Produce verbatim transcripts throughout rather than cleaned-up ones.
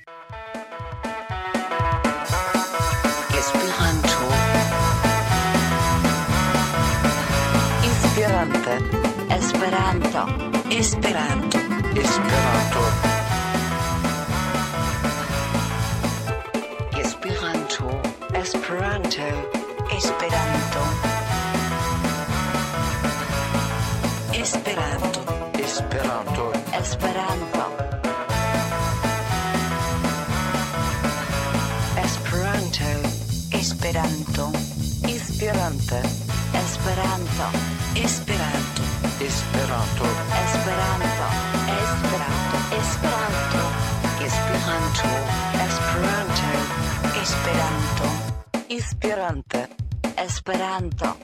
Esperanto. Esperante. Esperanto. Esperanto. Esperanto. Esperanto. Esperanto. Esperanto. Esperanto. Esperanto. Esperanto. Esperanto. Esperanto. Esperante. Esperanto. Esperanto. Esperanto. Esperanto. Esperanto. Esperanto. Esperanto. Esperanto. Esperanto. Esperante. Esperanto.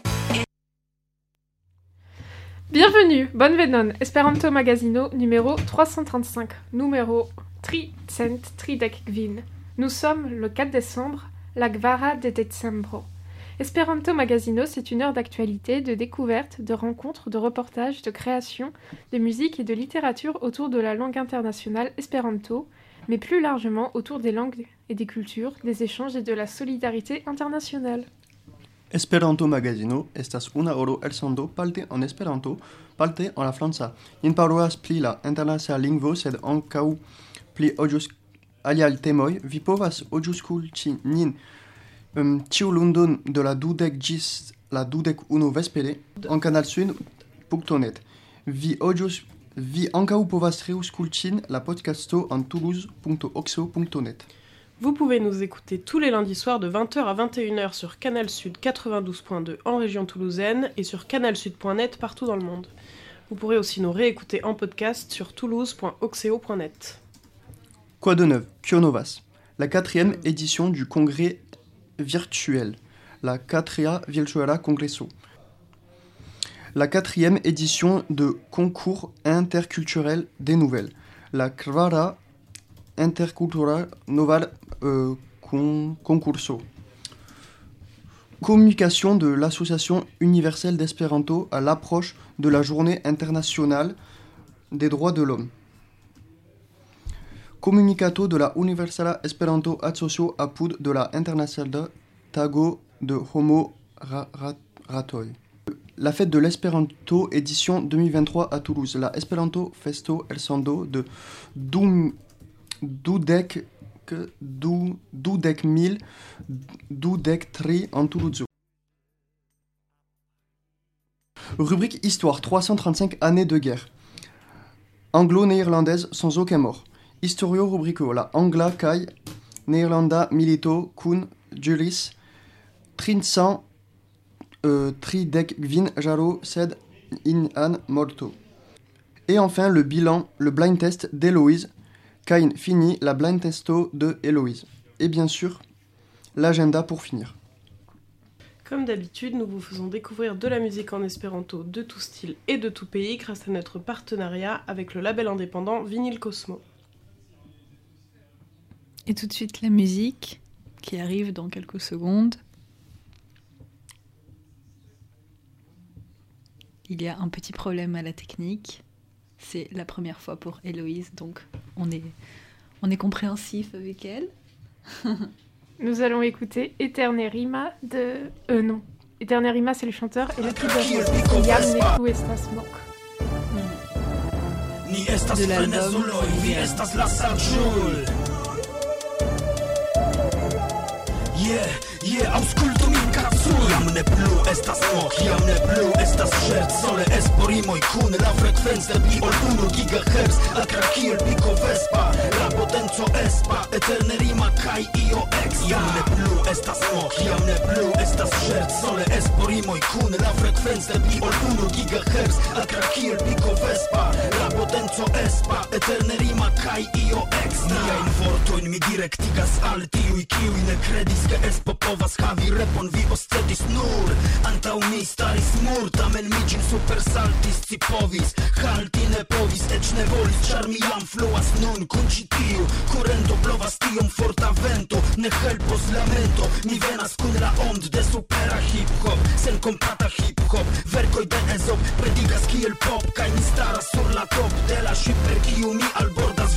Bienvenue, bonne venon, Esperanto Magazino numéro trois cent trente-cinq, numéro tricent tridek kvin. Nous sommes le quatre décembre, la Gvara de Decembro. Esperanto Magazino, c'est une heure d'actualité, de découverte, de rencontres, de reportages, de création, de musique et de littérature autour de la langue internationale Esperanto, mais plus largement autour des langues et des cultures, des échanges et de la solidarité internationale. Esperanto Magazino estas una horo elsendo parte en Esperanto, parte en la franca. Nin parolas pli la internacia lingvo, sed ankaŭ pli ojus aliaj temoj. Vi povas aŭskulti nin um, ĉiu lundon de la dudek ĝis la dudek unu vespere en canalsud punto net. Vi ojus vi ankaŭ povas reaŭskulti la podcasto en toulouse punto oxo punto net. Vous pouvez nous écouter tous les lundis soirs de vingt heures à vingt et une heures sur Canal Sud quatre-vingt-douze point deux en région toulousaine et sur canalsud point net partout dans le monde. Vous pourrez aussi nous réécouter en podcast sur toulouse point oxeo point net. Quoi de neuf? Kionovas, la quatrième édition du congrès virtuel, la Quatria Virtuala Congresso. La quatrième édition de concours interculturel des nouvelles, la Kvara Intercultural Noval euh, con, Concurso. Communication de l'Association universelle d'Espéranto à l'approche de la Journée internationale des droits de l'homme. Comunicato de la Universala Esperanto Asocio apud de la Internacional Tago de Homo ra, ra, Ratoi. La fête de l'Espéranto édition deux mille vingt-trois à Toulouse. La Esperanto Festo elsendo de Doum Dudek, du, dudek mil, dudek tri en Toulouse. Rubrique Histoire, trois cent trente-cinq années de guerre. Anglo-néerlandaise sans aucun mort. Historio rubrico, la Angla kai Néerlanda milito kun juris trinsan euh, tridek gvin jaro sed in an morto. Et enfin le bilan, le blind test d'Héloïse. Kain fini la blind testo de Héloïse. Et bien sûr, l'agenda pour finir. Comme d'habitude, nous vous faisons découvrir de la musique en espéranto de tout style et de tout pays grâce à notre partenariat avec le label indépendant Vinyl Cosmo. Et tout de suite la musique qui arrive dans quelques secondes. Il y a un petit problème à la technique. C'est la première fois pour Héloïse, donc on est, on est compréhensif avec elle. Nous allons écouter Eternerima de... Euh non, Eternerima c'est le chanteur et le titre de Yam Neku Estas Mok. De l'album Yeah, yeah, ausculto min cazzo. Jam ne plu estas moch, jam ne plu estas scherz. Sole esporimoj kun la frekvenza pli ol unu gigahertz. Akra kiel piko vespa, la potenco espa. Eterne rima kaj io ex. Jam ne plu estas moch, jam ne plu estas scherz. Sole esporimoj kun la frekvenza pli ol unu gigahertz. Akra kiel piko vespa, la potenco espa. Eterne rima kaj io ex. Niajn vortojn mi direktigas al tiuj kiuj ne kredis ke espo povas havi repon. Vi oscedis nur antaŭ mi staris mur, tamen mi ĝin supersaltis. Ci povis halti ne povis, eĉ ne volis, ĉar mi jam fluas nun kun ĉi tiu kurento. Blovas tiom forta vento, ne helpos lamento. Mi venas kun la ond de supera hip-hop, sen kompata hip-hop. Verkoj de Ezop predigas kiel pop, kaj mi staras sur la top de la ship per kiu mi albordas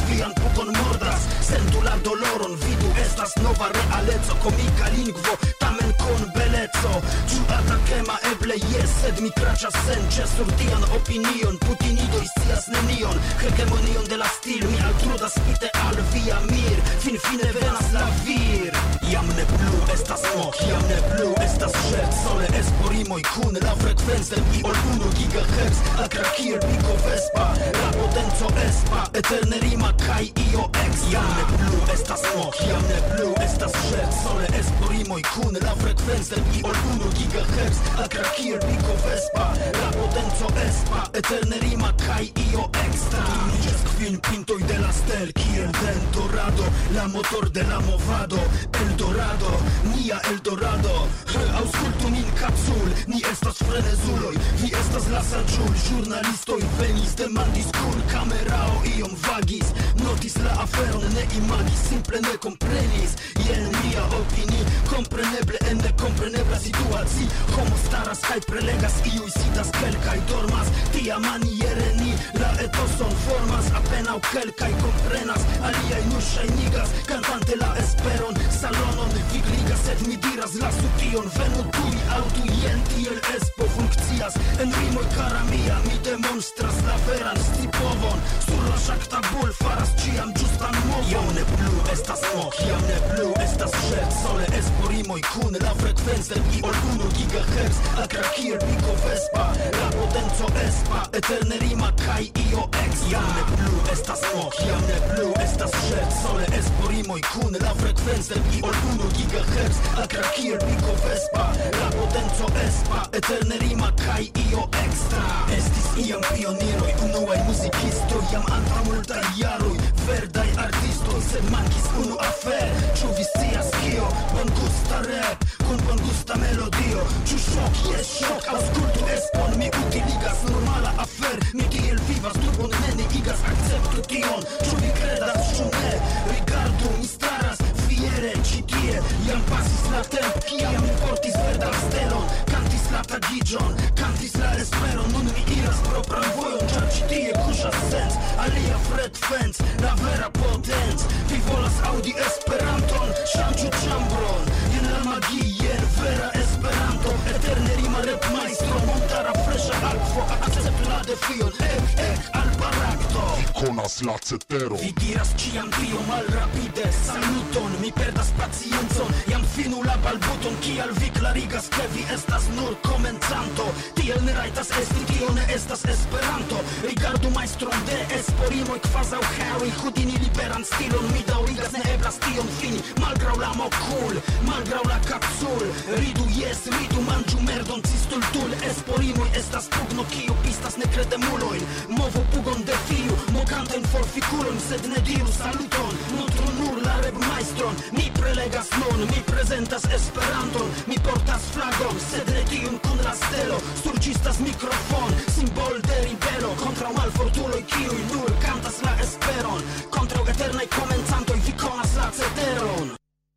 vian puton mordas sentu la doloron vidu estas nova realeco komika lingvo tamen kun beleco ĉu atakema eble jes sed mi kraĉas senĉe sur tian opinion putinidoj scias nenion hegemonion de la stil mi altrudas spite al via mir fin fine venas la vir jam ne plu estas moch jam ne plu estas ŝerc sole esporimoj kun la frekvenco pli ol unu gigahertz akra kiel piko vespa la potenco espa eterne rima kaj io ex jam ne plu estas moch jam ne plu estas ŝerc sole esporimoj kun la frekvenco pli ol unu gigahertz akra kiel piko vespa la potenco espa eterne rima kaj io extra Niĝas kvin pintoj de la stel kiel den dorado la motor de la movado Eldorado nia Eldorado aŭskultu min kapsul ni estas frenezuloj vi estas la saĝul ĵurnalistoj venis demandis kun kamerao iom vagis notis la aferon ne imagis simple ne komprenis jen mia opini kompreneble en nekomprenebla situaci homo staras kaj prelegas iuj sidas kelkaj dormas tia maniere ni la etoson formas apenaŭ kelkaj komprenas aliaj nur ŝajnigas kantante la esperon salonon vigligas sed mi diras lasu tion venu tuj aŭdu jen tiel espo funkcias en rimoj kara mia mi demonstras la veran scipovon sur la ŝaktabul faras ĉiam ĝustan movon jam ne plu estas moch jam ne plu estas ŝerc sole esporimoj kun la frekvenco pli ol unu gigahertz akra kiel piko vespa la potenco espa eterne rima kaj io ex jam ne plu estas moch jam ne plu estas ŝerc sole esporimoj kun la frekvenco pli ol unu gigahertz akra kiel piko vespa la potenco espa eterne rima kaj io extra estis iam pioniroj unuaj muzikistoj jam antaŭ multaj jaroj verdaj artistoj sed mankis unu afer ĉu vi scias kio bongusta rap kun bongusta melodio ĉu ŝok jes ŝok aŭskultu espon mi utiligas normala afer mi tiel vivas turbon neniigas akceptu tion ĉu vi kredas ĉu ne rigardu mi staras fiere ĉi tie jam pasis la tempo kiam mi portis verdan stelon kantis la tagiĝon kantis la esperon nun mi iras propran vojon ĉar ĉi tie kuŝas sens alia frekvenc la vera potenc vi volas aŭdi Esperanton ŝanĝu ĉambron jen la magio jen vera Esperanto eterne rima repmajstro montara freŝa akvo akceptu la defion ek ek al barakto konas la cetero vi diras ĉiam tio malrapide saluton mi perdas paciencon jam finu la balbuton kial vi klarigas ke vi estas nur komencanto tiel ne rajtas esti tio ne estas Esperanto rigardu majstron de esporimoj kvazaŭ Harry Houdini liberan stilon mi daŭrigas ne eblas tion fini malgraŭ la mokul malgraŭ la kapsul ridu jes ridu manĝu merdon cistultul esporimoj estas pugno kiu pistas nekredemulojn movu pugon defiu mokantajn forfikulojn sed ne diru saluton montru nur la repmajstron mi prelegas nun mi prezentas Esperanton mi portas flagon sed ne tiun kun la stelo surĝistas mikrofon simbol de ribelo kontraŭ malfortuloj kiuj nur kantas la esperon kontraŭ eternaj komencantoj vi konas la ceteron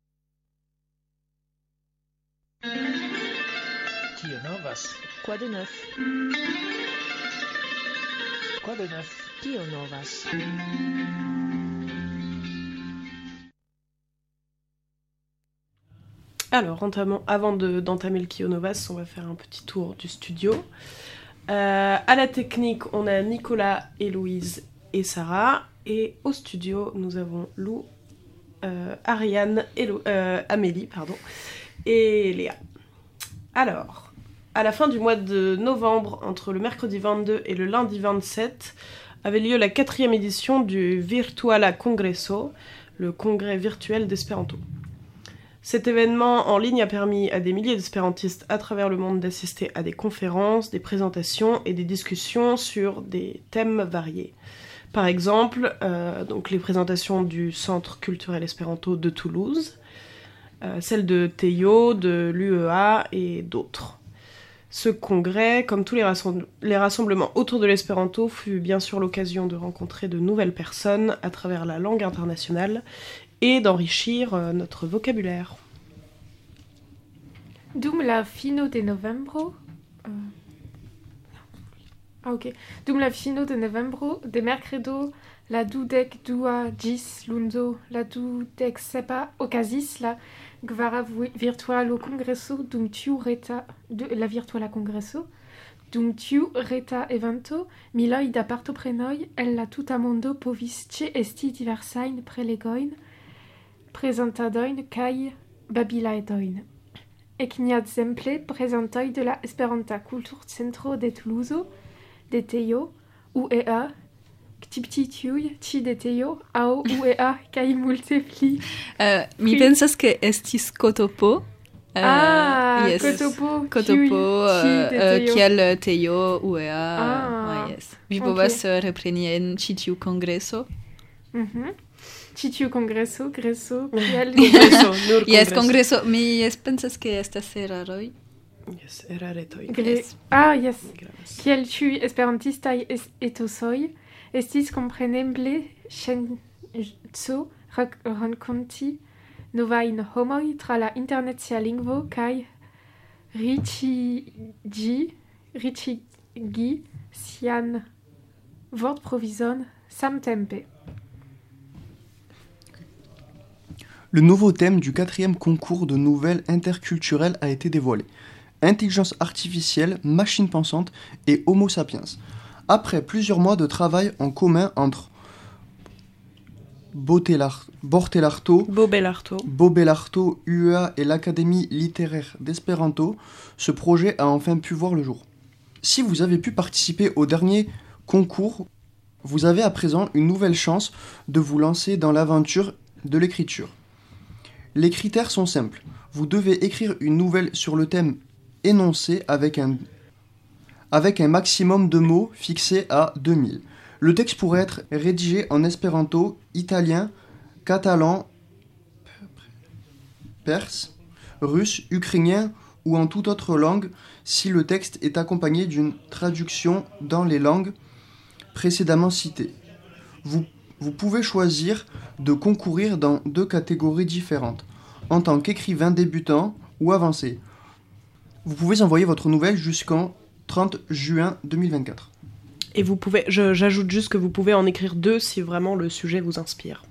Kio novas? Quoi de neuf? Quoi de neuf? Kio novas? Alors, entamons, avant de, d'entamer le Kio Novas, on va faire un petit tour du studio. Euh, à la technique, on a Nicolas, Héloïse et Sarah. Et au studio, nous avons Lou, euh, Ariane, Hélo, euh, Amélie pardon, et Léa. Alors, à la fin du mois de novembre, entre le mercredi vingt-deux et le lundi vingt-sept, avait lieu la quatrième édition du Virtuala Congresso, le congrès virtuel d'espéranto. Cet événement en ligne a permis à des milliers d'espérantistes à travers le monde d'assister à des conférences, des présentations et des discussions sur des thèmes variés. Par exemple, euh, donc les présentations du Centre culturel espéranto de Toulouse, euh, celles de Teio, de l'U E A et d'autres. Ce congrès, comme tous les, rassembl- les rassemblements autour de l'espéranto, fut bien sûr l'occasion de rencontrer de nouvelles personnes à travers la langue internationale et d'enrichir euh, notre vocabulaire. Dum la fino de novembro... Uh... Ah ok. Dum la fino de novembro, de mercredo la dudek dua gis lundo, la dudek sepa okazis la gvara vi- virtualo congresso dum tiu reta de la virtuala congresso dum tiu reta evento miloi da partoprenoi el la tuta mondo povis ce esti diversain prelegoin presentadoin kai babilaedoin. Ekniadsemple prezentoj de la Esperanta Kulturcentro de Toulouse, de Tejo, U E A, Ktiptitiuj, ĉi de Tejo, aŭ U E A kaj multe pli. Uh, mi Pri- pensas ke estis Kotopo. Uh, Ah, yes. Kotopo, Kotopo, kiuj- ĉi de uh, uh, Tejo. kiel Tejo, U E A. Ah, ah, yes. Vi ok. povas uh, repreni en ĉi tiu kongreso. Mhm. Ĉi tiu kongreso, greso, kiel Congreso, nur Yes, congreso. kongreso. Mi yes, pensas ke estas eraroj. Yes, eraretoj. Gre- Yes. Ah, yes. Gravas. Kiel ĉiuj esperantistaj es- etosoj, estis kompreneble ŝanco rak- renkonti novajn homoj tra la internacia lingvo kaj riĉigi riĉigi sian vortprovizon samtempe. Le nouveau thème du quatrième concours de nouvelles interculturelles a été dévoilé. Intelligence artificielle, machine pensante et Homo sapiens. Après plusieurs mois de travail en commun entre Botelar- Bortelarto, Bobelarto. Bobelarto, U E A et l'Académie littéraire d'Espéranto, ce projet a enfin pu voir le jour. Si vous avez pu participer au dernier concours, vous avez à présent une nouvelle chance de vous lancer dans l'aventure de l'écriture. Les critères sont simples. Vous devez écrire une nouvelle sur le thème énoncé avec un, avec un maximum de mots fixé à deux mille. Le texte pourrait être rédigé en espéranto, italien, catalan, perse, russe, ukrainien ou en toute autre langue si le texte est accompagné d'une traduction dans les langues précédemment citées. Vous, vous pouvez choisir de concourir dans deux catégories différentes, en tant qu'écrivain débutant ou avancé. Vous pouvez envoyer votre nouvelle jusqu'en trente juin deux mille vingt-quatre. Et vous pouvez, je- j'ajoute juste que vous pouvez en écrire deux si vraiment le sujet vous inspire.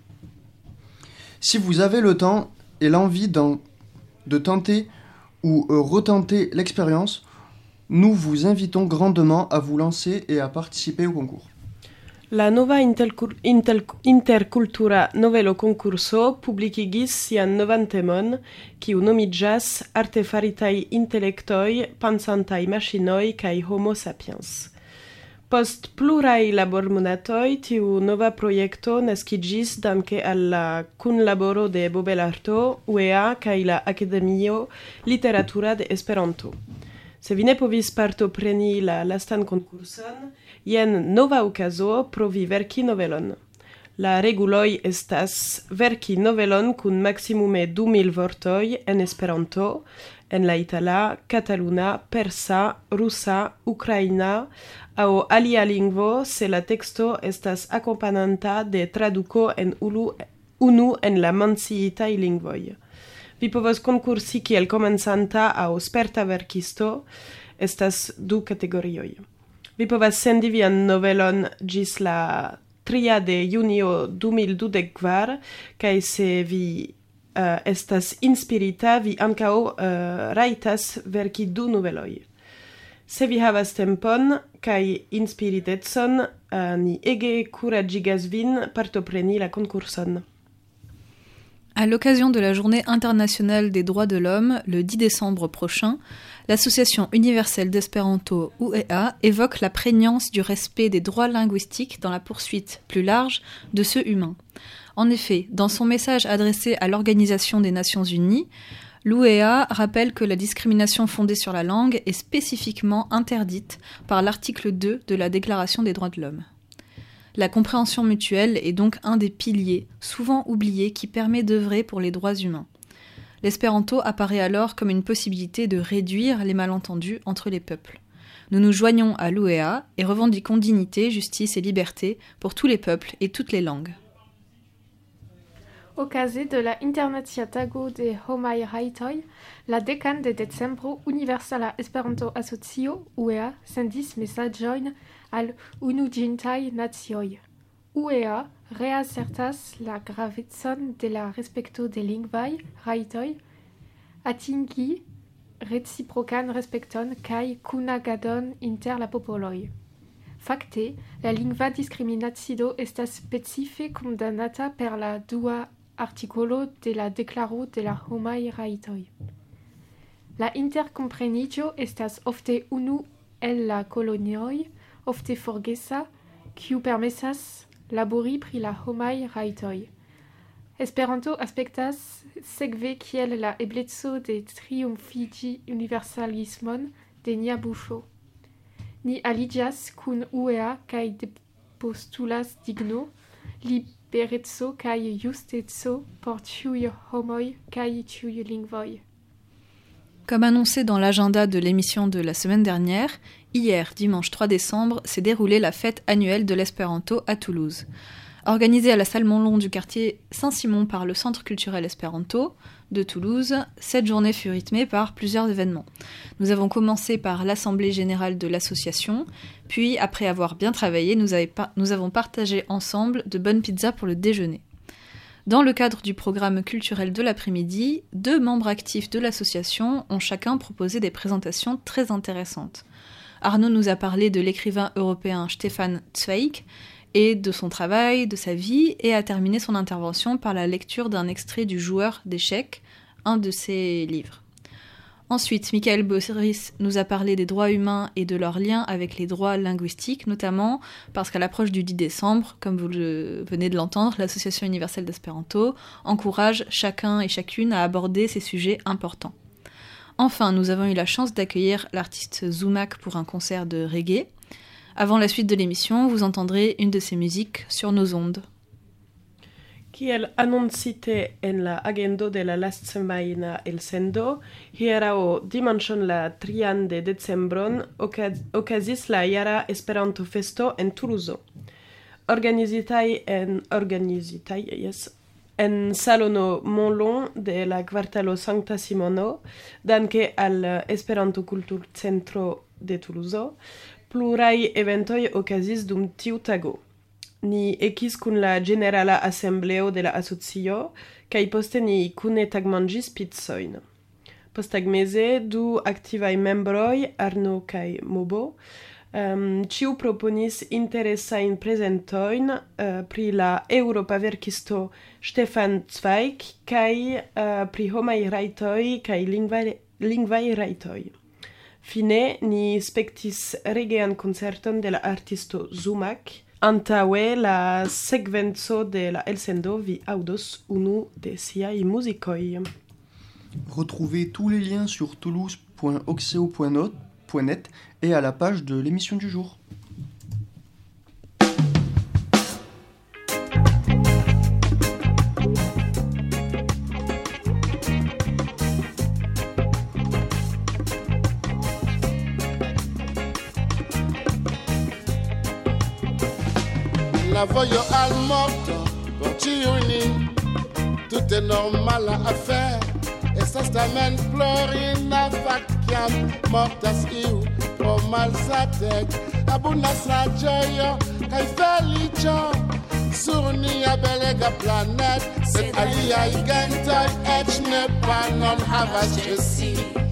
Si vous avez le temps et l'envie d'en- de tenter ou euh, retenter l'expérience, nous vous invitons grandement à vous lancer et à participer au concours. La nova intelcul- intel- intercultura novelo concurso publikigis sian novan temon, kiu nomiĝas Artefaritaj intelektoj, pensantaj maŝinoj kaj Homo sapiens. Post pluraj labormonatoj tiu nova projekto naskiĝis danke al la kunlaboro de Bobelarto, U E A kaj la Akademio Literatura de Esperanto. Se vi ne povis partopreni la lastan konkurson, jen nova okazo provi verki novelon. La reguloj estas verki novelon kun maximume du mil vortoj en Esperanto, en la itala, kataluna, persa, rusa, ukraina aŭ alia lingvo se la teksto estas akompananta de traduko en ulu, unu en la menciitaj lingvoj. Vi povos konkursi kiel komencanta aŭ sperta verkisto, estas du kategorioj. Vi povas sendi vian novelon ĝis la tria de junio du mil dudek kvar, kaj se vi uh, estas inspirita, vi ankaŭ uh, rajtas verki du noveloj. Se vi havas tempon kaj inspiritecon, uh, ni ege kuraĝigas vin partopreni la konkurson. À l'occasion de la Journée internationale des droits de l'homme, le dix décembre prochain, l'Association universelle d'Espéranto U E A évoque la prégnance du respect des droits linguistiques dans la poursuite plus large de ceux humains. En effet, dans son message adressé à l'Organisation des Nations Unies, l'U E A rappelle que la discrimination fondée sur la langue est spécifiquement interdite par l'article deux de la Déclaration des droits de l'homme. La compréhension mutuelle est donc un des piliers, souvent oubliés, qui permet d'œuvrer pour les droits humains. L'espéranto apparaît alors comme une possibilité de réduire les malentendus entre les peuples. Nous nous joignons à l'U E A et revendiquons dignité, justice et liberté pour tous les peuples et toutes les langues. Okaze de la Internacia Tago de Homaj Rajtoj, la dekan de decembro Universala Esperanto-Asocio U E A sendis mesaĝojn al Unuiĝintaj Nacioj. U E A reasertas la gravecon de la respekto de lingvaj rajtoj, atingi reciprokan respekton kaj kunagadon inter la popoloj. Fakte, la lingva diskriminacio estas specife condamnata per la dua artikolo de la Deklaro de la homaj rajtoj. La interkompreniĝo estas ofte unu el la kolonioj, ofte forgesa, kiu permesas labori pri la homaj rajtoj. Esperanto aspektas sekve kiel la ebleco de triumfigi universalismon de nia buŝo. Ni aliĝas kun U E A kaj depostulas digno, libereco kaj justeco por ĉiuj homoj kaj ĉiuj lingvoj. Comme annoncé dans l'agenda de l'émission de la semaine dernière, hier, dimanche trois décembre, s'est déroulée la fête annuelle de l'espéranto à Toulouse. Organisée à la salle Montlon du quartier Saint-Simon par le Centre culturel espéranto de Toulouse, cette journée fut rythmée par plusieurs événements. Nous avons commencé par l'assemblée générale de l'association, puis après avoir bien travaillé, nous, par- nous avons partagé ensemble de bonnes pizzas pour le déjeuner. Dans le cadre du programme culturel de l'après-midi, deux membres actifs de l'association ont chacun proposé des présentations très intéressantes. Arnaud nous a parlé de l'écrivain européen Stefan Zweig et de son travail, de sa vie, et a terminé son intervention par la lecture d'un extrait du Joueur d'échecs, un de ses livres. Ensuite, Michael Boris nous a parlé des droits humains et de leur lien avec les droits linguistiques, notamment parce qu'à l'approche du dix décembre, comme vous le venez de l'entendre, l'Association universelle d'espéranto encourage chacun et chacune à aborder ces sujets importants. Enfin, nous avons eu la chance d'accueillir l'artiste Zumak pour un concert de reggae. Avant la suite de l'émission, vous entendrez une de ses musiques sur nos ondes. Kiel annoncite en la agendo de la last semana el sendo, hierao dimanĉon la trian de decembron okazis la jara Esperanto festo en Toulouse. Organizitaj en organizitaj, yes, en salono Montlon de la kvartalo Sankta Simono, danke al Esperanto Kulturcentro de Toulouse, pluraj eventoj okazis dum tiu tago. Ni ekis kun la Generala Asembleo de la asocio, kaj poste ni kune tagmanĝis pizzojn. Posttagmeze du aktivaj membroj, Arno kaj Mobo, um, ĉiu proponis interesajn prezentojn uh, pri la eŭropa verkisto Stefan Zweig kaj uh, pri homaj rajtoj kaj lingvaj, lingvaj rajtoj. Fine ni spektis regean koncerton de la artisto Zumak. Antaŭe la sekvenco de la elsendo vi aŭdos unu de siaj muzikoj. Retrouvez tous les liens sur toulouse point oxeo point net et à la page de l'émission du jour. La voglio al morto, con Ciuni, tout est normal à faire. E sa stamen Florina facchiam, mortas iu, pro mal sa tec. Abunas la gioia, kai felicio, sur nia belega planet. Sed aliai gentoi, ec ne pa non havas cesi.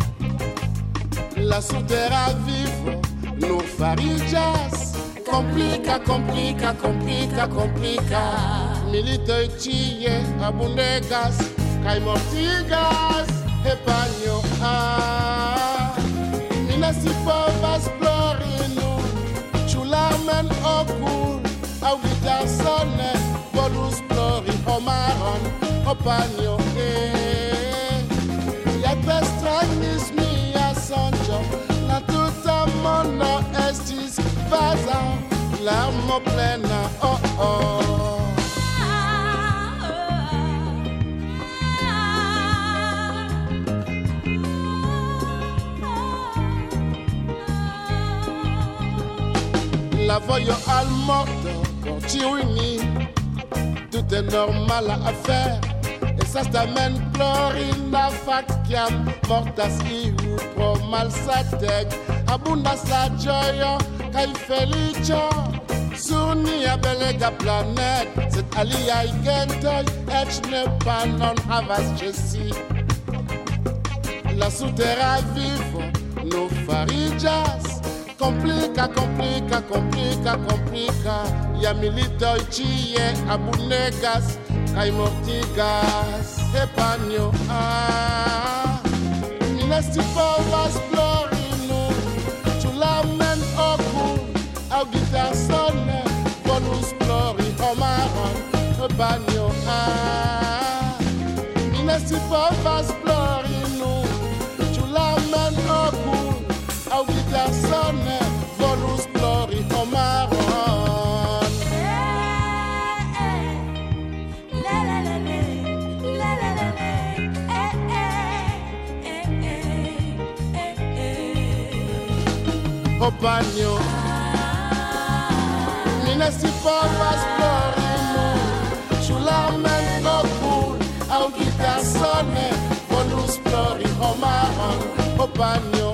La sudera vivo, nur farigas. Complica, complica, complica, complica. Militoi tie abundegas, kai mortigas, e bagno a. Mina si povas plorinu, chularmen okul, au guitar sone, volus plori omaron, o bagno e. Ya pestragnis mia sonjo, la tuta mono estis vaza, l'armo plena, oh oh. La voglio al morto, con Ciuni, tout est normal à faire. E sa stamen Florina facchiam, mortas iu pro malsatec. Abundas la gioia, kai felicio, Surnia belega planet, cet alia igentoj, ecz ne panon havas ĉe si. La sutera vivo no fariĝas komplika, komplika, komplika, komplika. Ja militoj ĉie abunegas kaj mortigas. Epanjo, ah, mi ne scipovas plori nun, ĉu la men okul aŭ gitarsone volus plori homaron. Epanjo, ah, mi ne scipovas plori nun, ĉu la men okul aŭ gitarsone volus plori homaron. Opagno, mi ne scipovas plori nun, ĉu la men okul aŭ gitarsone volus plori homaron. Opagno,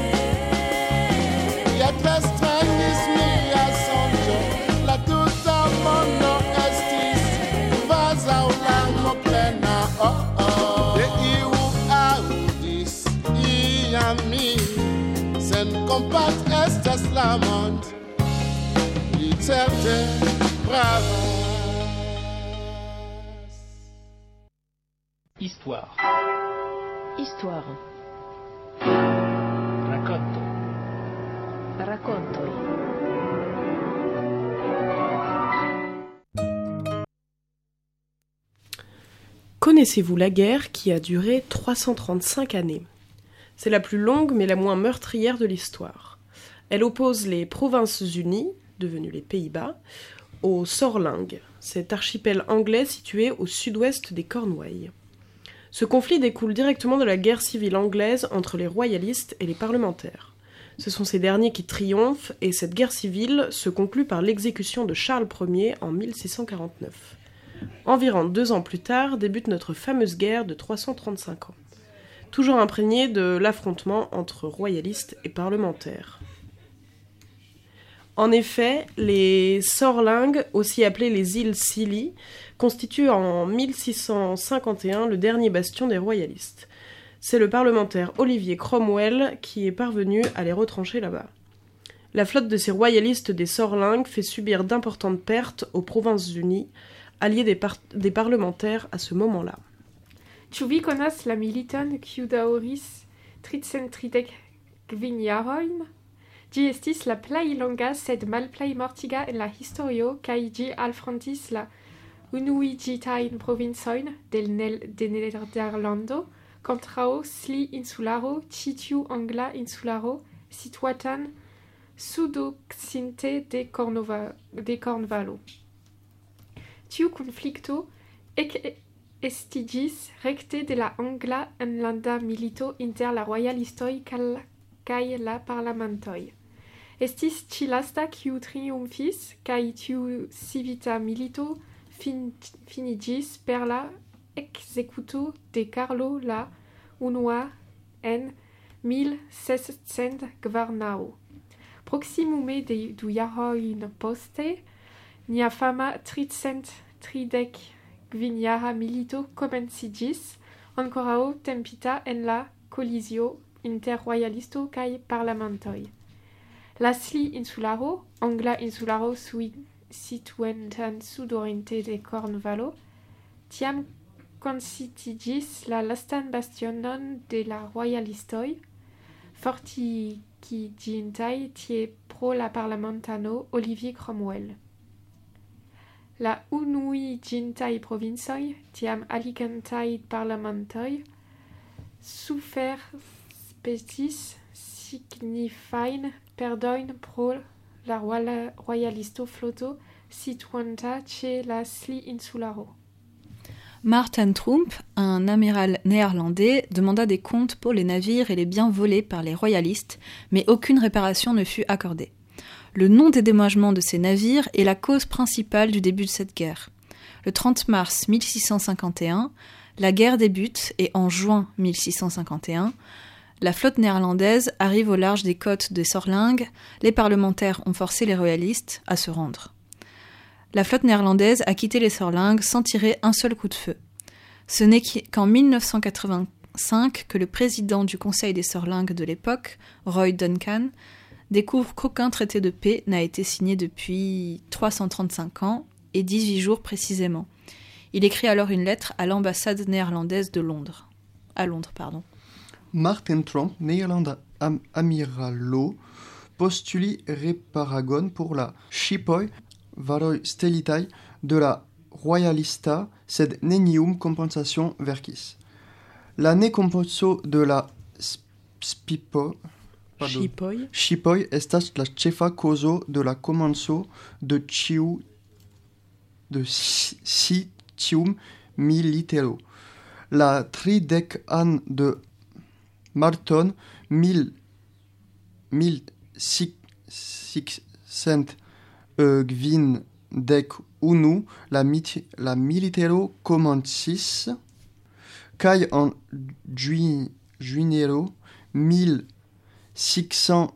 ja tre strangis mia sonĝo, la tuta mondo estis kvazaŭ larmoplena. Oh, oh. De iu aŭdis iam mi, sen kompat estas la mond, li certe bravas. Histoire. Histoire. Racconto. Raccontoi. Connaissez-vous la guerre qui a duré trois cent trente-cinq années ? C'est la plus longue mais la moins meurtrière de l'histoire. Elle oppose les Provinces-Unies, devenues les Pays-Bas, aux Sorlingues, cet archipel anglais situé au sud-ouest des Cornouailles. Ce conflit découle directement de la guerre civile anglaise entre les royalistes et les parlementaires. Ce sont ces derniers qui triomphent et cette guerre civile se conclut par l'exécution de Charles Ier en mille six cent quarante-neuf. Environ deux ans plus tard débute notre fameuse guerre de trois cent trente-cinq ans, toujours imprégnée de l'affrontement entre royalistes et parlementaires. En effet, les Sorlingues, aussi appelées les îles Scilly, constituent en mille six cent cinquante et un le dernier bastion des royalistes. C'est le parlementaire Olivier Cromwell qui est parvenu à les retrancher là-bas. La flotte de ces royalistes des Sorlingues fait subir d'importantes pertes aux Provinces-Unies, alliées des, par- des parlementaires à ce moment-là. Ĉu vi konas la militon kiu daŭris tricent tridek kvin jarojn? Ĝi estis la plej longa sed malplej mortiga en la historio kaj ĝi alfrontis la unuiĝitajn provincojn de, Nel- de Nederlando kontraŭ Scilly insularo, ĉi tiu angla insularo situatan sudokcidente de, Cornova- de Cornvalo. Tiu konflikto ek estiĝis rekte de la angla enlanda milito inter la royalistoj kaj la parlamentoj. Estis ĉi lasta kiu triumfis, kaj tiu civita milito fin, finiĝis per la ekzekuto de Karlo la unua en mil sescent kvarnaŭ. Proksimume de du jarojn poste, nia fama tricent tridek Gvinjara milito komenciĝis, ankoraŭ tempita en la kolizio inter royalisto kaj parlamentoj. La Scilly insularo, angla insularo situantan sudoriente de Cornvalo, tiam konsistiĝis la lastan bastionon de la royalistoj, fortikiĝintaj tie pro la parlamentano Olivier Cromwell. La unuiĝintaj provincoj, tiam aligantaj parlamentoj, suferspecis signifajn perdojn pro la royalisto floto situanta ĉe la Scilly insularo. Martin Tromp, un amiral néerlandais, demanda des comptes pour les navires et les biens volés par les royalistes, mais aucune réparation ne fut accordée. Le non-dédommagement de ces navires est la cause principale du début de cette guerre. Le trente mars mille six cent cinquante et un, la guerre débute et en juin mille six cent cinquante et un, La flotte néerlandaise arrive au large des côtes des Sorlingues. Les parlementaires ont forcé les royalistes à se rendre. La flotte néerlandaise a quitté les Sorlingues sans tirer un seul coup de feu. Ce n'est qu'en mille neuf cent quatre-vingt-cinq que le président du Conseil des Sorlingues de l'époque, Roy Duncan, découvre qu'aucun traité de paix n'a été signé depuis trois cent trente-cinq ans et dix-huit jours précisément. Il écrit alors une lettre à l'ambassade néerlandaise de Londres. À Londres, pardon. Martin Tromp, Nederlanda am amiralo, postuli reparagon pour la Shipoi varoi stelitai de la Royalista sed nenium compensation vercis. La ne compenso de la Spipo Shipoi Shipoi estas la ĉefa kozo de la komenco de ĉiu de si, si tium militero. La tridek an de Marton mil mil six cent gvin dek unu la mit la militero komencis kaj en juin juinero mil six cent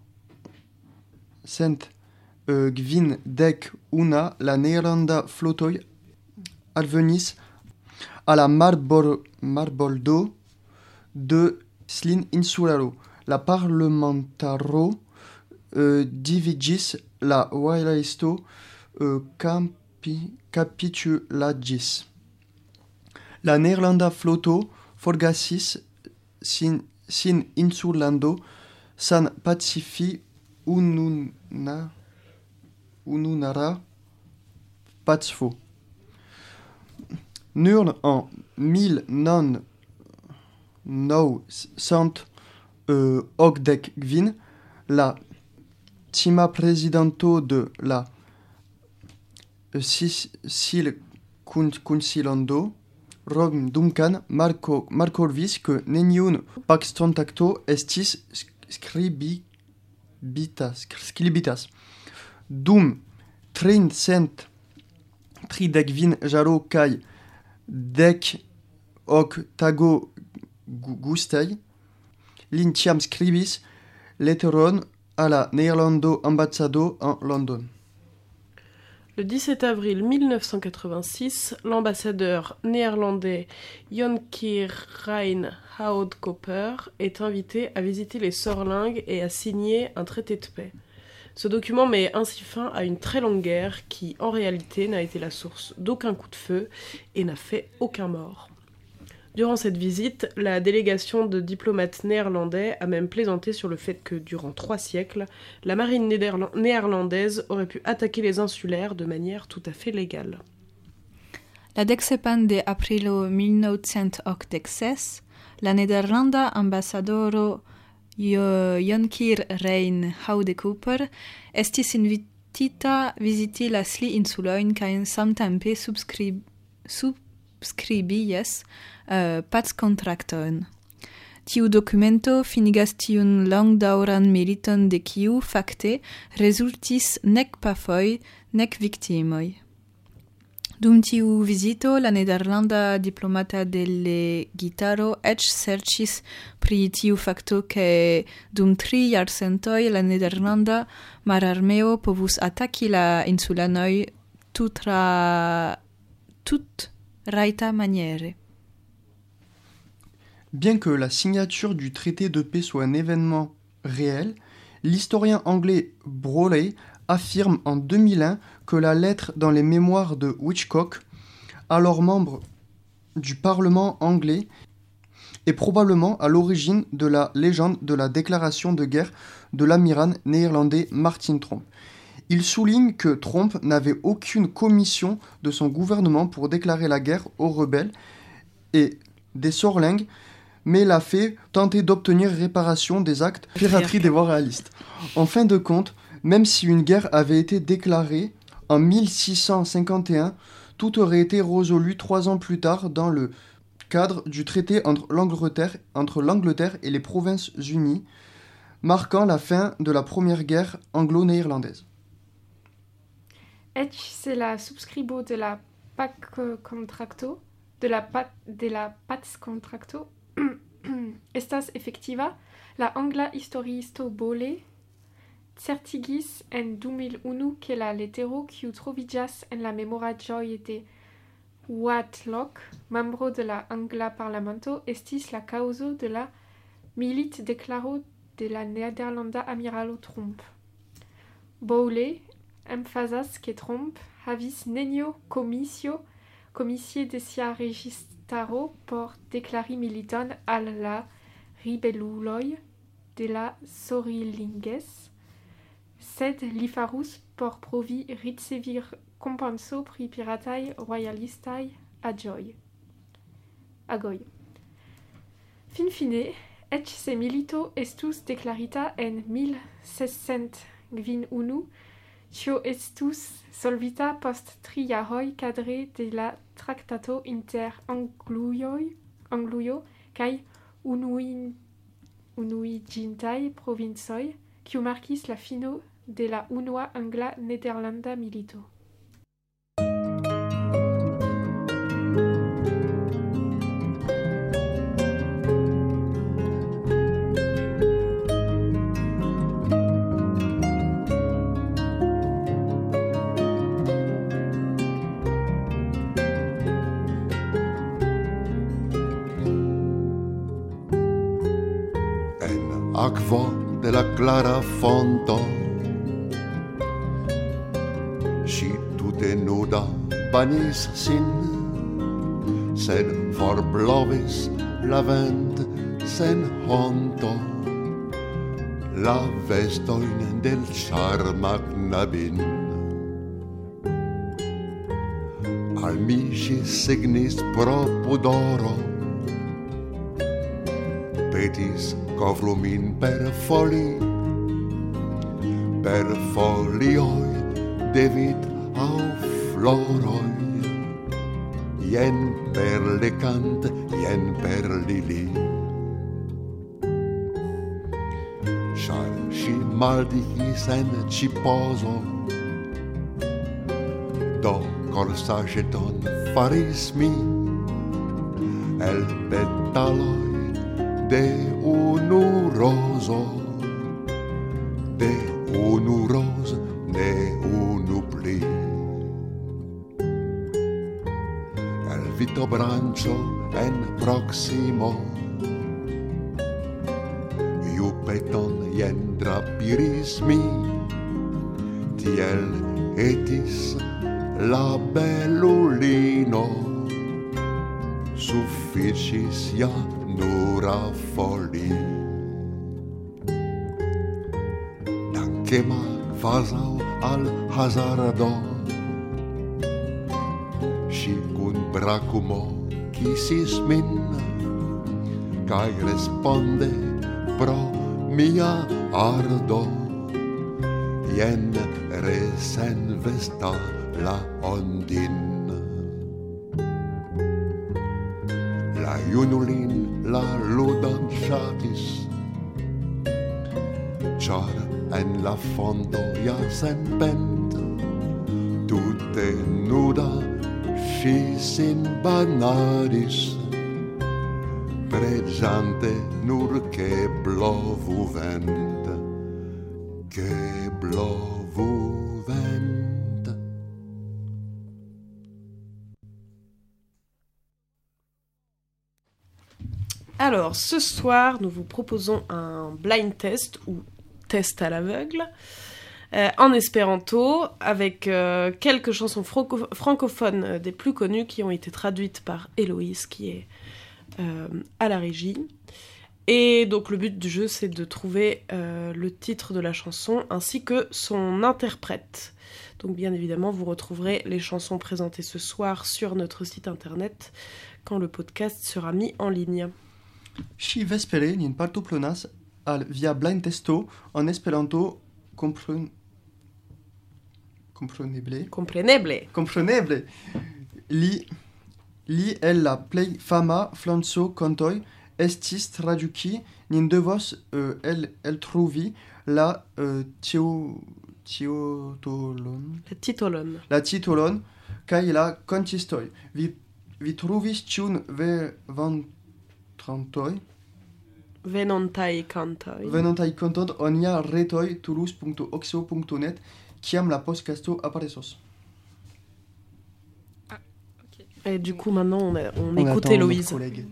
gvin dek una la Nederlanda flotoj alvenis à la Marbor, Marboldo de Slin Insularo. La parlamentaro euh, dividis la royalisto euh, capi, capitulagis. La Nederlanda floto forgasis sin, sin insulando san pacifi ununa, ununara pazfo. Nur en mille neuf cent ogdekvin, la tima presidento de la Sil Kunsilando, Rom Duncan, Marco Marcorvis, que neniun pax contacto estis scribitas, scribitas. Dum trincent tridekvin jaro kai dek ok tago gustei, l'intiam scribis letteron à la Néerlando ambassado en London. Le dix-sept avril mille neuf cent quatre-vingt-six, l'ambassadeur néerlandais Jonkir Rein Houtkoper est invité à visiter les Sorlingues et à signer un traité de paix. Ce document met ainsi fin à une très longue guerre qui, en réalité, n'a été la source d'aucun coup de feu et n'a fait aucun mort. Durant cette visite, la délégation de diplomates néerlandais a même plaisanté sur le fait que, durant trois siècles, la marine néderla- néerlandaise aurait pu attaquer les insulaires de manière tout à fait légale. La dexepan de aprilo mille neuf cent octantesses, la Nederlanda ambassadoro Jonkir Rein Houtkoper estis invitita visiti la Sli insulojn kaj samtempe subskrib subskribi jes uh, packontrakton. Tiu dokumento finigas tiun longdaŭran militon de kiu fakte rezultis nek pafoj nek viktimoj. Dum tiu vizito, la nederlanda diplomata delegitaro eĉ serĉis pri tiu fakto ke dum tri jarcentoj la nederlanda mararmeo povus ataki la insulanoj tutra tut rajta maniere. Bien que la signature du traité de paix soit un événement réel, l'historien anglais Broley affirme en deux mille un que la lettre dans les mémoires de Hitchcock, alors membre du Parlement anglais, est probablement à l'origine de la légende de la déclaration de guerre de l'amiral néerlandais Martin Tromp. Il souligne que Tromp n'avait aucune commission de son gouvernement pour déclarer la guerre aux rebelles et des Sorlingues, mais l'a fait tenter d'obtenir réparation des actes de piraterie des voies réalistes. En fin de compte, même si une guerre avait été déclarée en mille six cent cinquante et un, tout aurait été résolu trois ans plus tard dans le cadre du traité entre l'Angleterre, entre l'Angleterre et les Provinces-Unies, marquant la fin de la première guerre anglo-néerlandaise. Ec c'est la subscribo de la Pac Contracto, de la, pat, de la Paz Contracto, Estas efectiva la angla historiisto Bole certigis en du mil unu que la letero kiu troviĝas en la memoraĵoj de Whitlock, membro de la angla parlamento, estis la kaŭzo de la militdeklaro de la nederlanda amiralo Tromp. Bowley emfazas ke Tromp havis nenio komisio komisie de sia registaro por deklari militon al la ribeluloj de la Sorilinges, sed li farus por provi ricevi kompenso pri pirataj royalistaj aĝoj. Agoj. Finfine, eĉ se milito estus deklarita en mil sescent kvin unu, tio estus solvita post tri jaroj kadre de la traktato inter Anglujoj, Anglujo kaj unuin, unuiĝintaj provincoj, kiu markis la fino de la unua angla-nederlanda milito. Akvo de la clara fonto, ŝi tute nuda banis sin, sed forblovis la vent sen honto la vestojn del ĉarma knabin. Al mi ŝi signis pro pudoro, petis kovru min per foli, per folioj de vid aŭ floroj, jen per lekant, jen per lili. Ĉar ŝi maldigis en ĉipozo, do korsaĵeton faris mi el petaloj de unu rozo, de unu roz, ne unu pli. El vitobranĉo en proksimo, jupeton jen drapiris mi, tiel etis la belulino, sufiĉis ja nura foli. Dankema kvazaŭ al hazardo, ŝi kun brakumo kisis min, kaj responde pro mia ardo, jen resenvesta la ondin. La junulin la ludon ŝatis, ĉar en la fondo ja senpent, tute nuda ŝi sin banadis, preĝante nur ke blovu vent, ke blovu vent. Alors, ce soir, nous vous proposons un blind test ou test à l'aveugle euh, en espéranto avec euh, quelques chansons franco- francophones euh, des plus connues qui ont été traduites par Héloïse qui est euh, à la régie. Et donc le but du jeu, c'est de trouver euh, le titre de la chanson ainsi que son interprète. Donc bien évidemment, vous retrouverez les chansons présentées ce soir sur notre site internet quand le podcast sera mis en ligne. Ŝi vespere nin partoprenas al via blind testo en Esperanto kompren... kompreneble. Kompreneble. Kompreneble. Li li el la plej fama flanco-kantoj estis traduki, nin devos uh, el eltrovi la uh, tio tiotolon. La titolon. La titolon kaj la kantistoj. Vi vi trovis ĉiun vervantrantoj? Venontai kantoj. Venontai kantoj on nia retoj toulouse punto oxo punto net kiam la podcasto aparesos. Ah, ok. Et du coup, maintenant, on, a, on, On écoute attend Héloïse. notre collègue.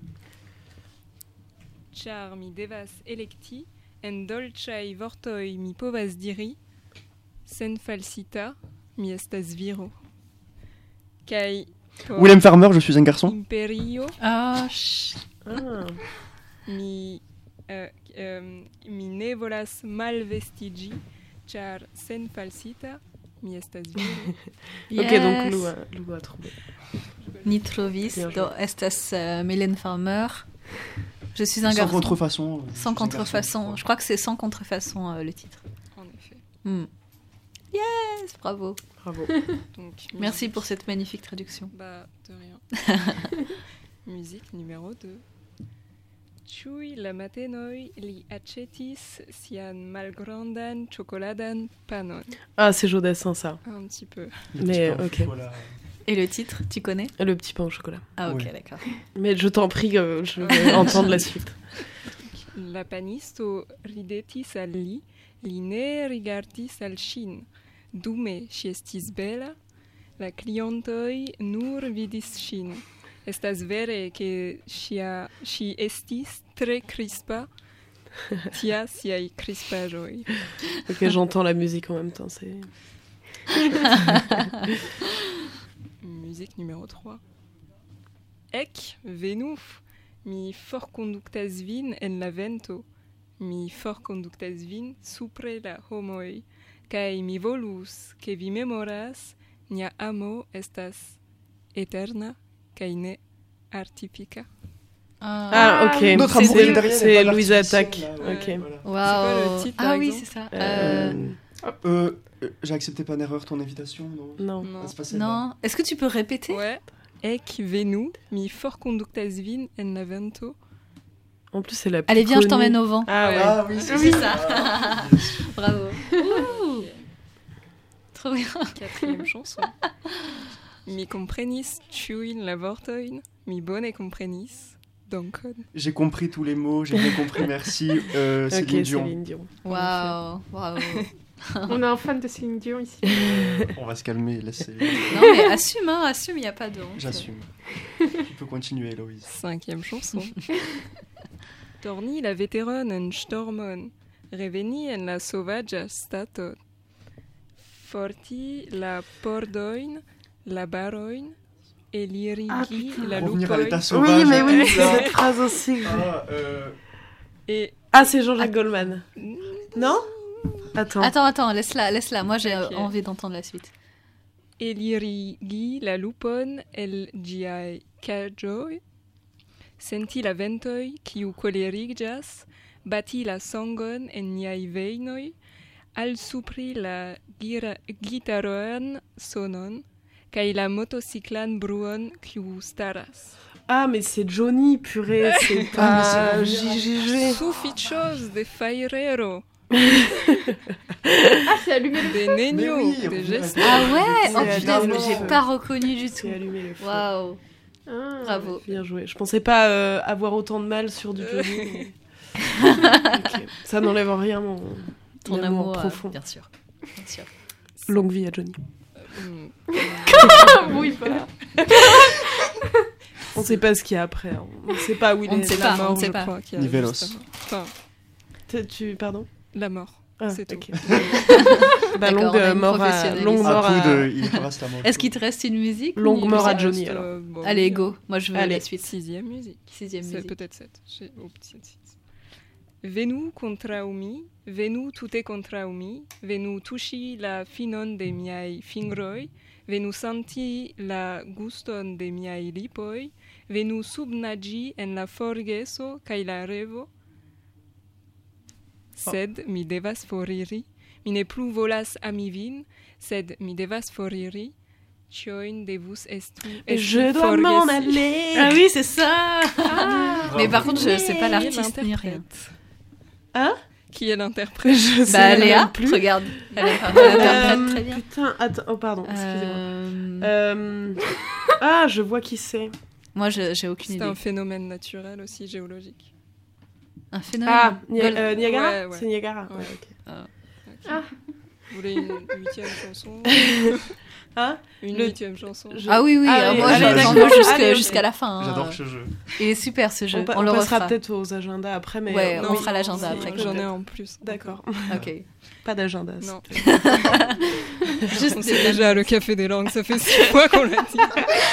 Char mi devas electi, en dolĉaj vortoj mi povas diri, sen falsita mi estas viro. Kaj por Willem Farmer, je suis un garçon. imperio Ah, ch- Ah. mi, euh, euh, mi ne volas malvestiĝi, ĉar sen falsita mi estas viro. Ok, yes. donc Lou a, Lou a trouvé. Ni trovis, Bien do estas euh, Mylène Farmer. Je suis un Sans garçon. contrefaçon. je suis Sans un contrefaçon. garçon. Je crois que c'est sans contrefaçon euh, le titre. En effet. Hmm. Yes, bravo. Bravo. Donc, Merci musique- pour cette magnifique traduction. Bah, de rien. Musique numéro deux. Ĉiuj la matenoj li aĉetis sian malgrandan ĉokoladan panon. Ah, c'est Jodassin, ça. Un petit peu. Le Mais, petit pain au ok. chocolat. Et le titre, tu connais? Le petit pain au chocolat. Ah ok, Oui. d'accord. Mais je t'en prie, euh, je vais entendre la suite. La panisto ridetis al li, li ne rigardis al ŝin. Dume ŝi estis bela, la klientoj nur vidis ŝin. Estas vere ke ŝia ŝi estis tre crispa, tia siaj crispaĵoj. Ok, j'entends la musique en même temps. C'est... Musique numéro trois. Ec venu, mi forkonduktas vin en la vento, mi forkonduktas vin supre la homoj, kaj mi volus, ke vi memoras, nia amo estas eterna kaj ne artifica. Ah, ok. Notre C'est- amour c'est, italien c'est n'est pas Louise l'artificiel, Attaque. là, ouais, Ok. voilà. quoi Waouh. le titre, par Ah oui, exemple c'est ça. Euh, Euh, Euh, euh, J'ai accepté pas en erreur ton invitation, non Non. Non. Ah, c'est pas celle-là. Non. Est-ce que tu peux répéter? Ouais. Ec venu, mi forkonduktas vin en la vento. En plus, c'est la plus Allez, viens, je connue. t'emmène au vent. Ah ouais. Ah oui, c'est Oui, ça. ça. Ah, bien sûr. Bravo. Ouh. Trop bien. Quatrième chanson. Mi comprenis ĉiujn la vortojn, mi bone comprenis. Dankon. J'ai compris tous les mots, j'ai bien compris, merci. Euh, Ok, Céline Dion. Céline Dion. Waouh. Bravo. On a un fan de Céline Dion ici. On va se calmer, laissez. Non mais assume, hein, assume, il n'y a pas de honte. J'assume. Tu peux continuer, Héloïse. Cinquième chanson. Torni la veteron en stormon, reveni en la sovaĝa staton. Forti la pordojn, la barojn, elirigi Ah, putain. la Revenir à lupojn. l'état sauvage. Oui, mais oui, là. cette phrase aussi. Ah, euh, Et Ah, c'est Jean-Jacques Goldman. Non? Attends. Attends, attends, laisse-la, laisse-la. Moi, j'ai Ok. euh, envie d'entendre la suite. elirigi la lupon el ĝiaj kaĝoj, senti la ventoj kiu kolerigĝas, bati la sangon en niaj vejnoj, alsupri la gira- gitaroan sonon, kaj la motociklan bruon kiu staras. Ah, mais c'est Johnny, purée, c'est pas J J G. Sufiĉos de fajrero, Ah, c'est allumé le de Mais nenio, oui, de revenir à gestes. l'état- Ah ouais. C'est Oh putain, allumé j'ai le pas reconnu du tout. C'est allumé le feu. Waouh. Ah. Bravo. Bien joué. Je pensais pas euh, avoir autant de mal sur du Johnny. mais- Ok. Ça n'enlève en rien mon Ton mon amour, euh, profond. bien sûr. Bien sûr. Longue vie à Johnny. Mm. Oui, pas. On sait pas ce qu'il y a après. hein. On sait pas où il On est. ne sait La pas, mort, on ne sait je pas. crois, qui a Nivelos. juste avant. Enfin, Tu- Tu pardon. la mort. Ah, C'est tout. ok. Bah, D'accord, longue on a euh, une mort à professionnelle longue ici. mort Un coup à de Il reste la mort. Est-ce qu'il te reste une musique? longue ou- mort à Ça Johnny reste, alors. euh, bon, Allez, go. Moi, je veux Allez. la suite. Sixième musique. Sixième C'est musique. peut-être sept. J'ai au petit six. Venu kontraŭ mi, venu tute kontraŭ mi, venu tuŝi la finon de miaj fingroj, venu senti la guston de miaj lipoj, venu subnaĝi en la forgeso kaj la revo. Sed mi devas foriri, mi ne plu volas ami vin, sed mi devas foriri, ĉiujn devus estu Et esti je dois m'en forgesi. aller. Ah oui, c'est ça. Mais par contre, je sais pas Qui est l'artiste ni rien. l'interprète Hein? Qui est l'interprète? Je sais Bah, même Léa, plus. regarde. Elle Euh, interprète très bien. Putain, attends, oh pardon, excusez-moi. Euh, Euh, Ah, je vois qui c'est. Moi, je- j'ai aucune C'est idée. un phénomène naturel aussi géologique. Un phénomène. Ah, Ni- Gold- euh, Niagara Ouais, ouais. C'est Niagara. Ouais. Ouais, ok. Ah. Ok. Ah. Vous voulez une huitième chanson Hein Une Le- huitième chanson Je- Ah oui, oui, Ah euh, oui, moi allez, j'en d'accord. veux jusque- Allez, ok. jusqu'à la fin. hein. J'adore ce jeu. Il est super ce jeu, On, pa- on, on le passera refera. peut-être aux agendas après, mais... Ouais, euh, on oui. fera l'agenda Si, après. peut-être. J'en ai en plus. D'accord. Ok. Pas d'agenda. Non. Juste On sait déjà le café des langues, ça fait six fois qu'on l'a dit.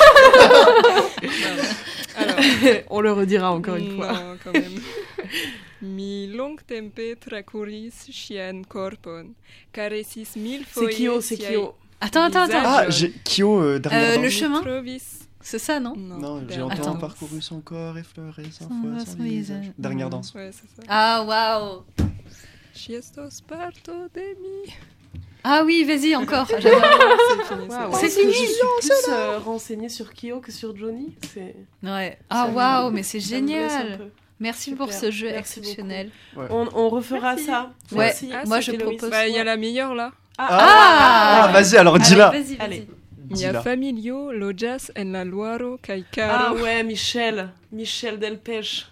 Alors, On le redira encore une fois. non, quand même. Mi long tempe tracuris chien corpon, caresis mille C'est foie. Kyo, c'est Kyo. Attends, attends, attends. Ah, j'ai Kyo euh, dernière Euh, danse. le chemin Trovis. C'est ça, non Non, j'ai dernière entendu Attends. parcouru son corps, effleuré sans Sans foi, voix, sans sans visage. visage. Dernière danse. Ouais, c'est ça. Ah, waouh. Chiestos parto de mi. Ah oui, vas-y, encore. J'adore. C'est fini, c'est Waouh. bon. C'est Est-ce que fini, je suis plus euh, renseignée sur Kyo que sur Johnny. C'est... Ouais. Ah, Ça me- waouh, mais c'est ça me blesse un génial. peu. Merci Super. pour ce jeu Merci exceptionnel. Ouais. On, on refera Merci. ça. Ouais, Merci. Ah, moi je c'était Loïs. propose. Bah, il y a la meilleure là. Ah, Ah, Ah, vas-y, alors Allez, dis-la. vas-y, vas-y. Allez. Mia Dis-la. familio lojas en la Loiro kai Ah caro. ouais, Michel. Michel Delpech.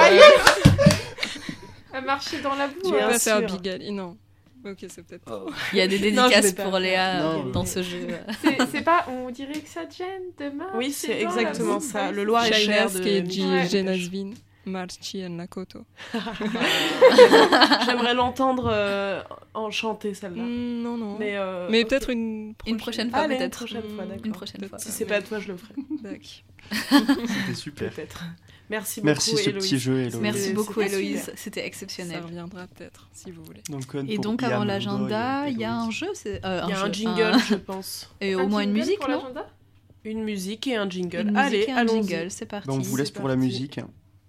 À marcher dans la boue. Tu Bien vas pas faire sûr. Bigali, non. Ok, c'est peut-être trop. Il y a des Non, je dédicaces vais pas pour faire. Léa Non, dans mais- ce jeu. C'est c'est pas, on dirait que ça te gêne demain. Oui, c'est exactement ça. Le Loir. Loir-et-Cher Shainas de ke Michel ji Ouais. genasvin marchi en la koto. J'aimerais l'entendre euh, en chanter celle-là. Mm, non, non. Mais, Mais, euh, ok. peut-être une prochaine, Une prochaine fois, Allez, une peut-être. prochaine fois, d'accord. Une prochaine Peut-être. fois. Si c'est pas toi, je le ferai. Tac. C'était super. Peut-être. Merci beaucoup, Merci ce Héloïse. petit jeu, Héloïse. Merci C'était beaucoup, super. Héloïse. C'était Ça exceptionnel. reviendra peut-être, si vous voulez. Donc, Code Et pour donc, Ian, avant Ludo l'agenda, et il y a un Héloïse. jeu c'est, euh, Il y a jeu, un jingle, je pense. Et Un au moins une jingle musique, pour non l'agenda Une musique et un jingle. Une Allez, musique et un allons-y. jingle, c'est parti. Bah, on vous laisse c'est pour la parti. musique.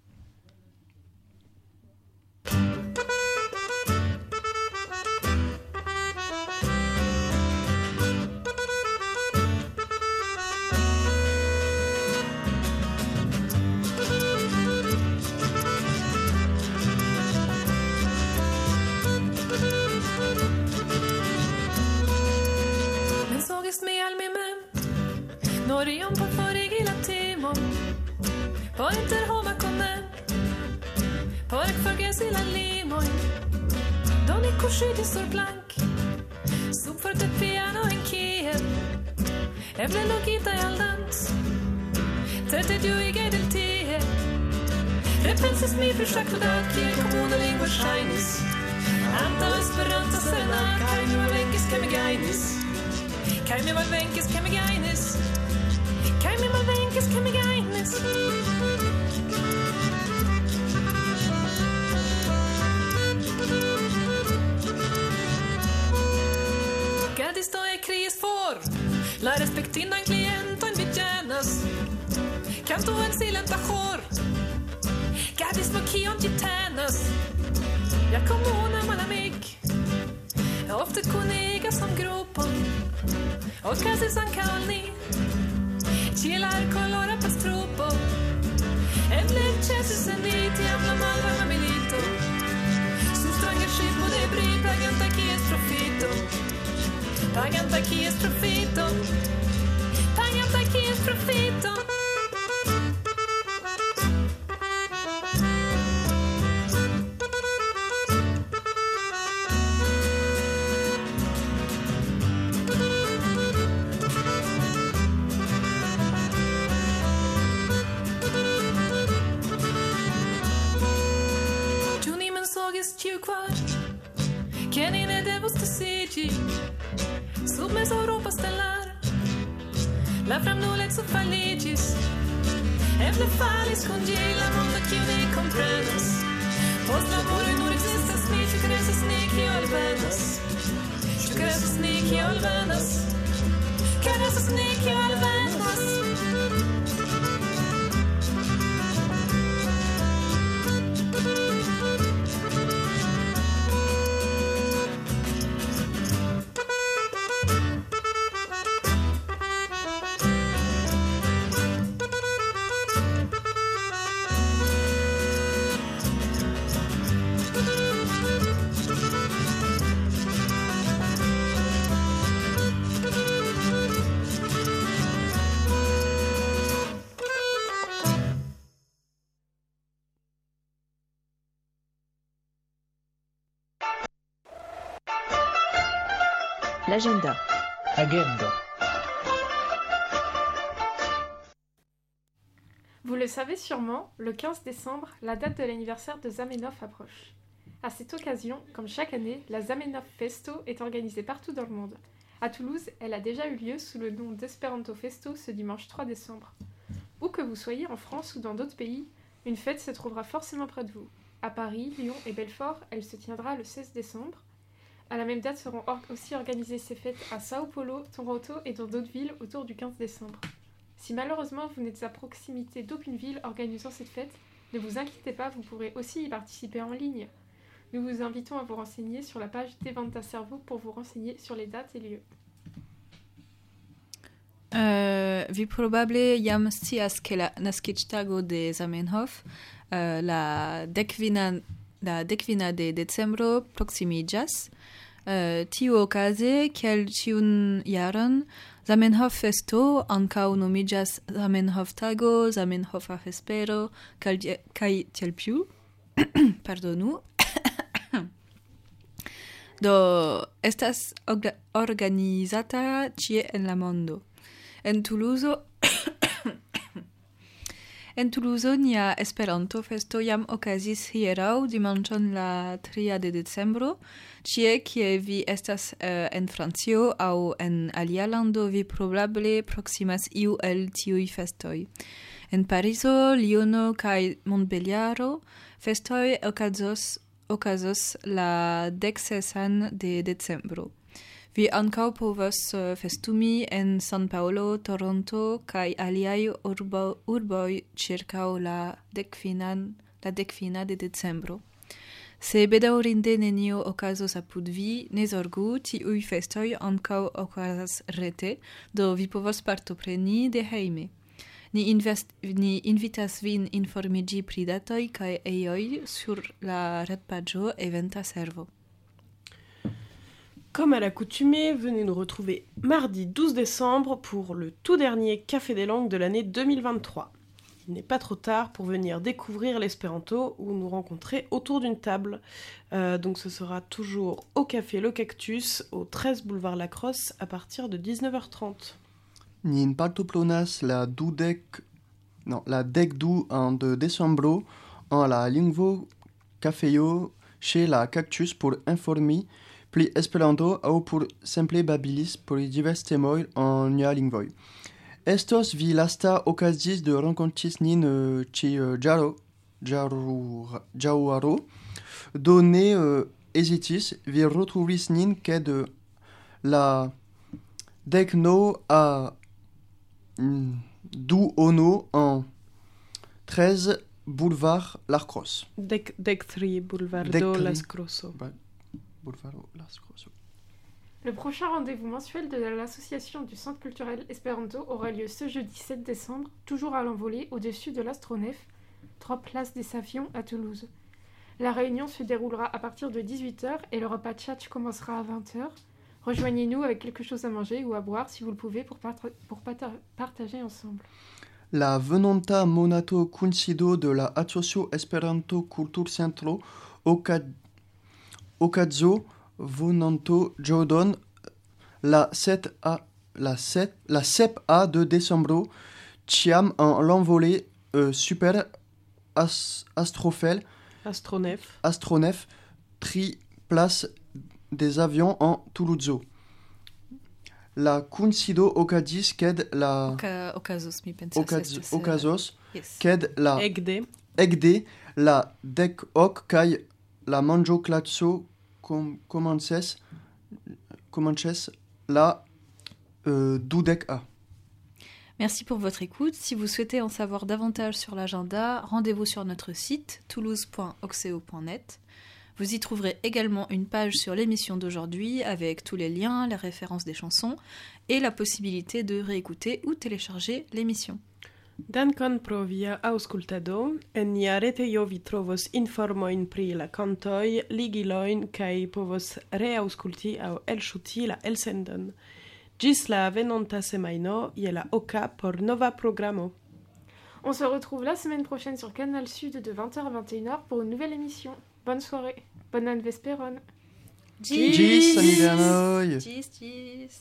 Men sågest med almimen Norion på forrige timon På interhomakonen Pork forges illa limoin Doni kushidi sur blank Sup for te piano en Kiev Evle logita i aldans Tete du i gedel tie Repensis mi försökt för daki Kommunen lingua shinis Anta esperanza serena Kai nu avenkis kemigainis Kai mi valvenkis kemigainis Kai mi valvenkis kemigainis Gadis då är kris får La respektin en klient och en betjänas Canto en silenta hår Gadis mo kion gitanas Jag kom ona malamik Ofta kuniga som grupon Och casi san kaolni Chilar colora pastropo En leche se seniti Habla mal varma milito Sustranga ship och det bryr Paganta kies profito Paganta kies profito Paganta kies profito Juni men sågis tju kvar Kenine devos te sigi Sub mes Europa stellar La fram nulex och faligis Evle falis congela Monta chiude comprenas Post laboro in urix estas ni Ciu cresas ni qui alvenas Ciu cresas ni qui alvenas Cresas ni qui alvenas L'agenda. Agendo. Vous le savez sûrement, le quinze décembre, la date de l'anniversaire de Zamenhof approche. À cette occasion, comme chaque année, la Zamenhof Festo est organisée partout dans le monde. À Toulouse, elle a déjà eu lieu sous le nom d'Esperanto Festo ce dimanche trois décembre. Où que vous soyez, en France ou dans d'autres pays, une fête se trouvera forcément près de vous. À Paris, Lyon et Belfort, elle se tiendra le seize décembre. À la même date seront or- aussi organisées ces fêtes à Sao Paulo, Toronto et dans d'autres villes autour du quinze décembre. Si malheureusement vous n'êtes à proximité d'aucune ville organisant cette fête, ne vous inquiétez pas, vous pourrez aussi y participer en ligne. Nous vous invitons à vous renseigner sur la page d'Eventa Servo pour vous renseigner sur les dates et lieux. Uh, vi probable jam scias ke la naskiĝtago de Zamenhof, uh, la dekvina la dekvina de decembro proksimiĝas. Uh, tiuokaze, kiel ĉiun jaron, Zamenhof-festo ankaŭ nomiĝas Zamenhof-tago, Zamenhofa vespero kaj kaj tiel plu. Pardonu. Do estas orga- organizata ĉie en la mondo. En Toulouse, en Toulouse nia Esperanto festo jam okazis hieraŭ dimanĉon la tria de decembro. Ĉie kie vi estas uh, en Francio aŭ en alia lando, vi probable proksimas iu el tiuj festoj. En Parizo, Liono kaj Montbeliaro festoj okazos okazos la deksesan de decembro. Vi ankaŭ povas uh, festumi en San Paolo, Toronto kaj aliaj urbo, urboj ĉirkaŭ la dekfinan la dekfina de decembro. Se bedaŭrinde nenio okazos apud vi, ne zorgu, tiuj festoj ankaŭ okazas rete, do vi povas partopreni de hejme. Ni, invest, ni invitas vin informiĝi pri datoj kaj ejoj sur la retpaĝo Eventa Servo. Comme à l'accoutumée, venez nous retrouver mardi douze décembre pour le tout dernier Café des langues de l'année deux mille vingt-trois. Il n'est pas trop tard pour venir découvrir l'espéranto ou nous rencontrer autour d'une table. Euh, donc ce sera toujours au Café Le Cactus, au treize boulevard Lacrosse, à partir de dix-neuf heures trente. Nin partoprenas la dudek non la dekdu en de decembro en la lingvo kafejo chez la Cactus pour informi pri Esperanto aŭ pour simple babilis pri divers temoj en nia lingvoj. Estos vi lasta okazis de renkontis nin uh, ĉi uh, ĝaro ĝaŭaro, do ne uh, hezitis, vi retrovis nin ke de la dekno a mm, duono en treize boulevard Lacrosse. Dec, dec tri boulevard Dec do tri. Las Crosso. Ba- Boulevard Las Crosso. Le prochain rendez-vous mensuel de l'association du Centre culturel Esperanto aura lieu ce jeudi sept décembre, toujours à l'envolée, au-dessus de l'Astronef, trois places des Savions à Toulouse. La réunion se déroulera à partir de dix-huit heures et le repas tchatch commencera à vingt heures. Rejoignez-nous avec quelque chose à manger ou à boire si vous le pouvez pour, parta- pour pata- partager ensemble. La venonta monato coincido de la Asocio Esperanto Kulturcentro oka- okazo venonto ĝodon la sept a la sept la sep a de decembro ĉiam en l'envolée euh, super as, astrofel Astronef. astronef tri place des avions en Toulouse. La coincido okazis ked la Oka, okazos, mi pensas. okaz, estas, eh, okazos yes. ked la Egde. ekde la dek ok kaj la manĝo klaso com, komences komences la euh, dudek a. Merci pour votre écoute. Si vous souhaitez en savoir davantage sur l'agenda, rendez-vous sur notre site toulouse point oxeo point net. Vous y trouverez également une page sur l'émission d'aujourd'hui avec tous les liens, les références des chansons et la possibilité de réécouter ou télécharger l'émission. Dankon pro via aŭskultado. En nia retejo vi trovos informojn pri la kantoj, ligilojn kaj povos reaŭskulti aŭ elŝuti la elsendon. Ĝis la venonta semajno je la oka por nova programo. On se retrouve la semaine prochaine sur Canal Sud de vingt heures à vingt et une heures pour une nouvelle émission. Bonne soirée, bonne vesperon. Ĝis samideanoj! Ĝis, ĝis!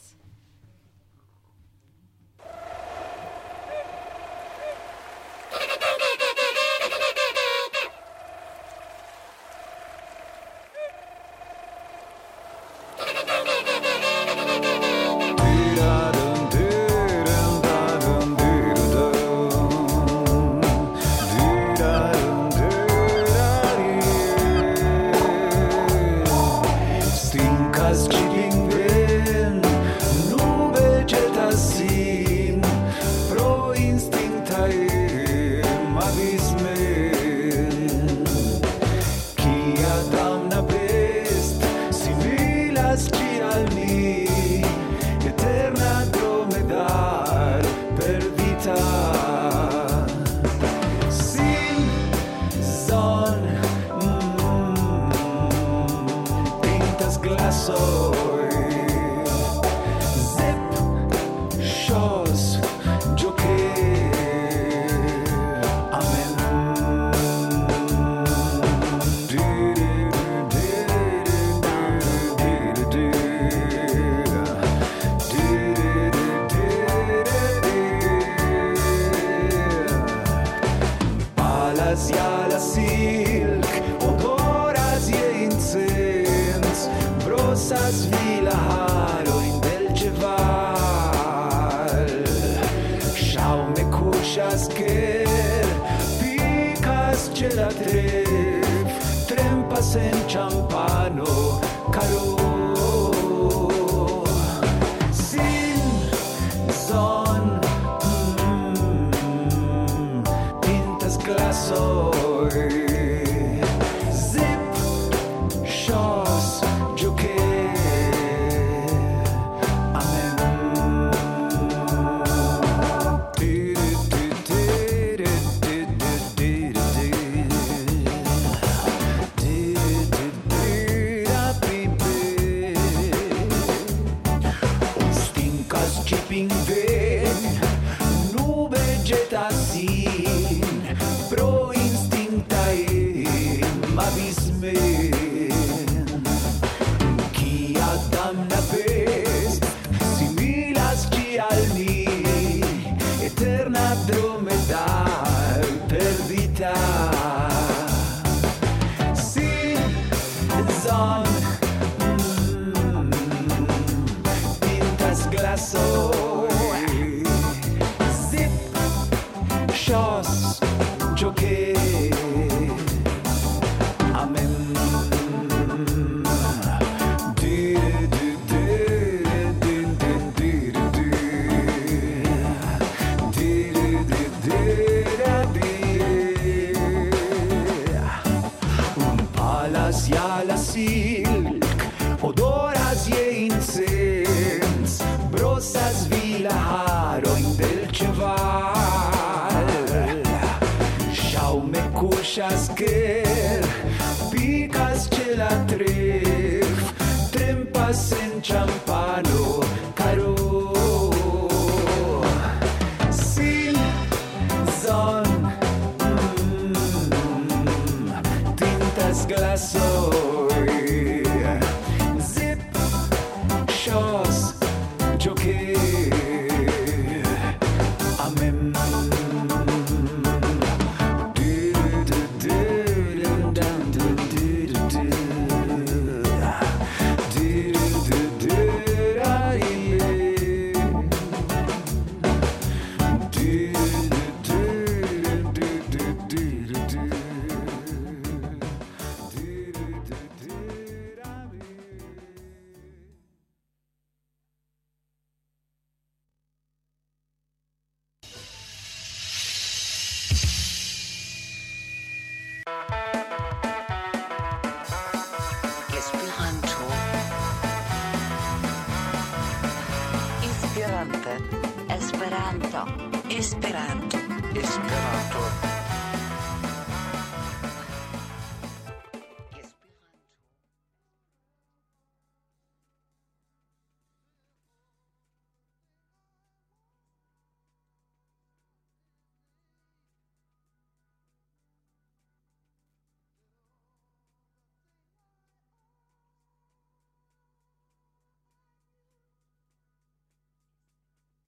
Esperanto. Esperanto. Esperanto.